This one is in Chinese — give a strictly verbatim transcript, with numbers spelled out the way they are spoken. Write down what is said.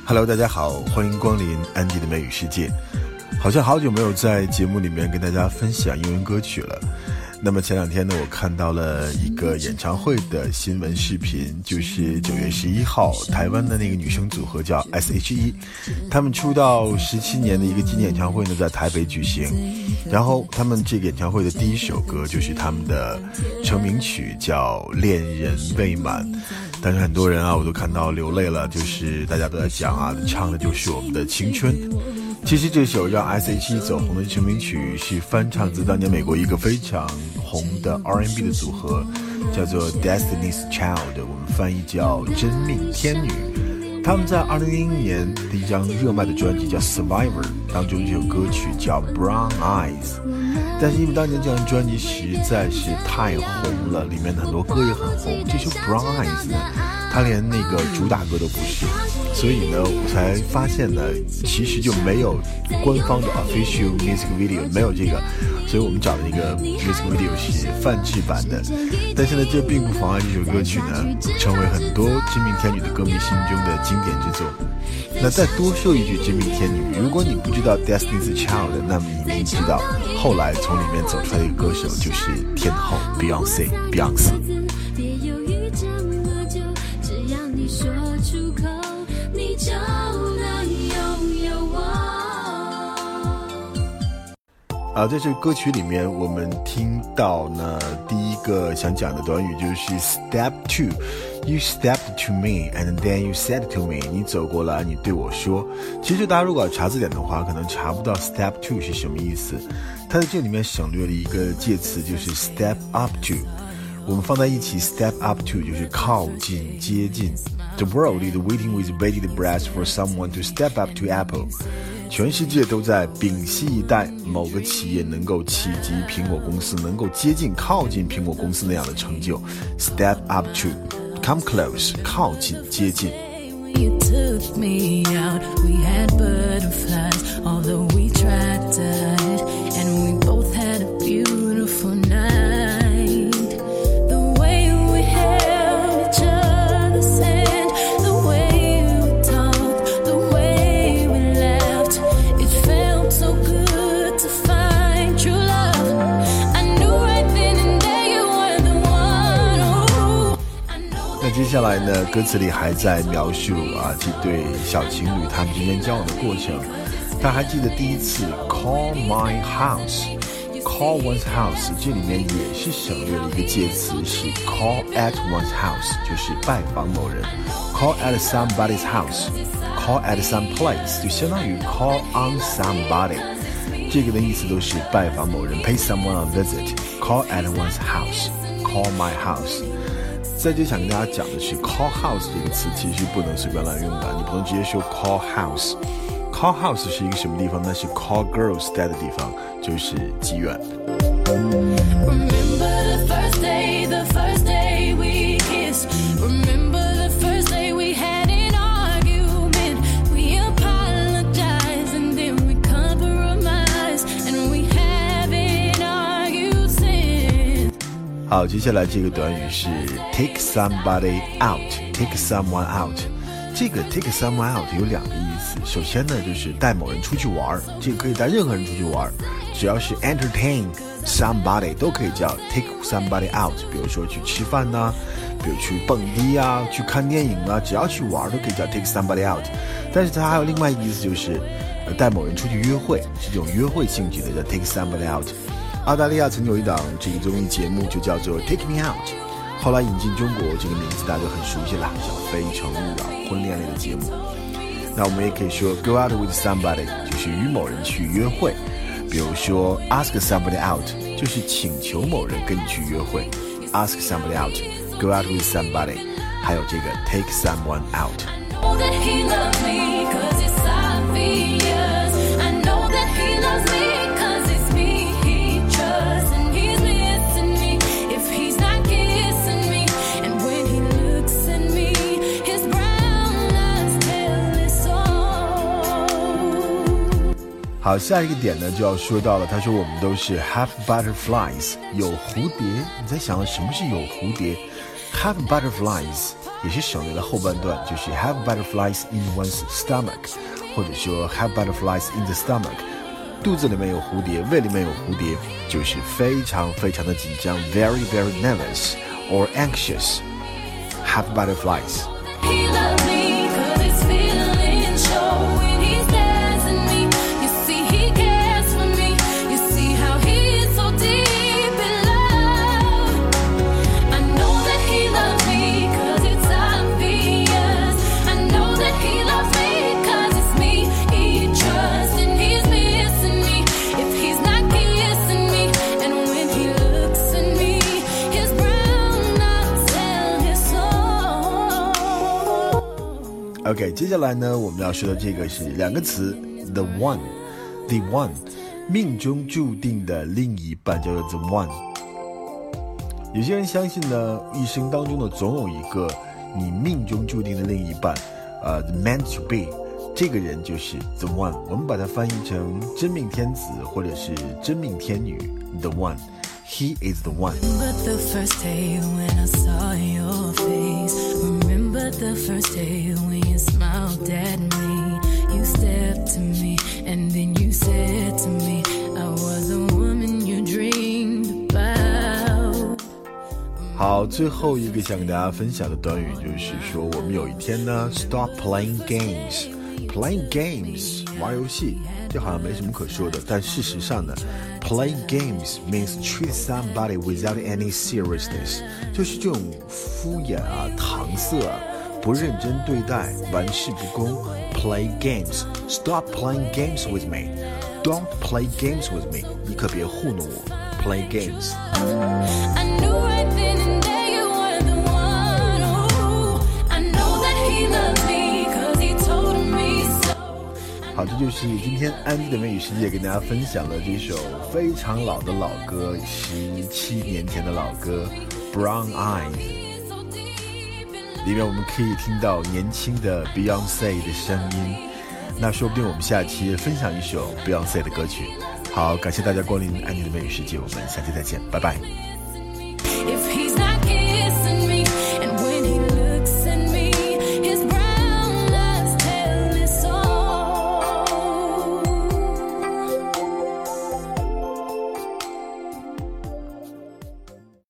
Hello， 大家好，欢迎光临安迪的美语世界。好像好久没有在节目里面跟大家分享英文歌曲了。那么前两天呢，我看到了一个演唱会的新闻视频，就是九月十一号，台湾的那个女生组合叫 S H E， 他们出道十七年的一个纪念演唱会呢，在台北举行。然后他们这个演唱会的第一首歌就是他们的成名曲，叫《恋人未满》。但是很多人啊，我都看到流泪了，就是大家都在讲啊，唱的就是我们的青春。其实这首让 S H E 走红的成名曲是翻唱自当年美国一个非常红的 R and B 的组合，叫做 Destiny's Child， 我们翻译叫真命天女。他们在二零零一年的一张热卖的专辑叫 Survivor 当中，这首歌曲叫 Brown Eyes， 但是因为当年这张专辑实在是太红了，里面的很多歌也很红，这首 Brown Eyes 呢，它连那个主打歌都不是，所以呢我才发现呢其实就没有官方的 official music video， 没有这个，所以我们找的那个 music video 是泛制版的。但是呢这并不妨碍这首歌曲呢成为很多真命天女的歌迷心中的经典之作。那再多说一句真命天女，如果你不知道 Destiny's Child， 那么你一定知道后来从里面走出来的一个歌手就是天后 Beyonce Beyonce。 说出口，你就能拥有我。 啊，在这个歌曲里面，我们听到呢，第一个想讲的短语就是 Step two。You stepped to me, and then you said to me。你走过来，你对我说。其实大家如果要查字典的话，可能查不到 Step two 是什么意思。它在这里面省略了一个介词，就是 Step up to。我们放在一起 ，step up to 就是靠近、接近。The world is waiting with bated breath for someone to step up to Apple。全世界都在屏息以待，某个企业能够企及苹果公司，能够接近、靠近苹果公司那样的成就。Step up to， come close， 靠近、接近。 You took me out, we had butterflies, although we tried to hide, and we both had a beautiful night.The way we held each other's hand, the way we talked, the way we laughed, it felt so good to find true love. I knew right then and there you were the one. Oh, I know. 那接下来呢，歌词里还在描述啊这对小情侣他们之间交往的过程。他还记得第一次 call my house。Call one's house 这里面也是省略了一个介词，是 call at one's house， 就是拜访某人。Call at somebody's house， call at some place 就相当于 call on somebody， 这个的意思都是拜访某人 ，pay someone a visit。Call at one's house， call my house。在这想跟大家讲的是 call house 这个词其实不能随便乱用的，你不能直接说 call house。Call house 是一个什么地方？那是 call girls 待的地方，就是妓院。 Remember the first day, the first day we kissed. Remember the first day we had an argument. We apologized and then we compromised, and we haven't argued since. 好，接下来这个短语是 take somebody out, take someone out。这个 take someone out 有两个意思，首先呢就是带某人出去玩，这个可以带任何人出去玩，只要是 entertain somebody 都可以叫 take somebody out。比如说去吃饭呐、啊，比如去蹦迪啊，去看电影啊，只要去玩都可以叫 take somebody out。但是它还有另外一个意思，就是呃带某人出去约会，是这种约会性质的叫 take somebody out。澳大利亚曾有一档这个综艺节目就叫做 Take Me Out。后来引进中国，这个名字大家都很熟悉了，叫《非诚勿扰》婚恋类的节目。那我们也可以说 go out with somebody， 就是与某人去约会。比如说 ask somebody out， 就是请求某人跟你去约会。ask somebody out， go out with somebody。还有这个 take someone out。Know that he loves me 'cause it's obvious. I know that he loves me 'cause it's me he trusts, and he's missing me if he's not kissing me. And when he looks at me, his brown eyes tell us all. 好，下一个点呢就要说到了，他说我们都是 have butterflies， 有蝴蝶。你在想什么是有蝴蝶？ Have butterflies 也是省略了后半段，就是 have butterflies in one's stomach， 或者说 have butterflies in the stomach， 肚子里面有蝴蝶，胃里面有蝴蝶，就是非常非常的紧张 very very nervous or anxious. Have butterflies. He loves me 'cause his feelings show when he's dancing me. You see he cares for me. You see how he's so deep in love. I know that he loves me 'cause it's obvious. I know that he loves me 'cause it's me. He trusts and he's missing me if he's not kissing me. And when he looks at me, his brown eyes tell his soul. OK， 接下来呢，我们要说的这个是两个词 ，the one，the one， 命中注定的另一半叫做 the one。有些人相信呢，一生当中呢，总有一个你命中注定的另一半，呃 ，the meant to be， 这个人就是 the one。我们把它翻译成真命天子或者是真命天女 ，the one。He is the one. Remember the first day when I saw your face. Remember the first day when you smiled at me. You stepped to me and then you said to me, I was the woman you dreamed about. 好，最后一个想跟大家分享的短语就是说，我们有一天呢 ，stop playing games。Playing games 玩游戏，这好像没什么可说的，但事实上呢 ，playing games means treat somebody without any seriousness， 就是这种敷衍啊、搪塞啊、不认真对待、玩世不恭。Play games, stop playing games with me. Don't play games with me. 你可别糊弄我。Play games. I knew right then and there you were the one. Ooh, I know that he loves me 'cause he told me so. 好，这就是今天安迪的美语世界跟大家分享的这首非常老的老歌，十七年前的老歌 Brown Eyes。里面我们可以听到年轻的 Beyonce 的声音，那说不定我们下期分享一首 Beyonce 的歌曲。好，感谢大家光临安迪的美语世界，我们下期再见，拜拜。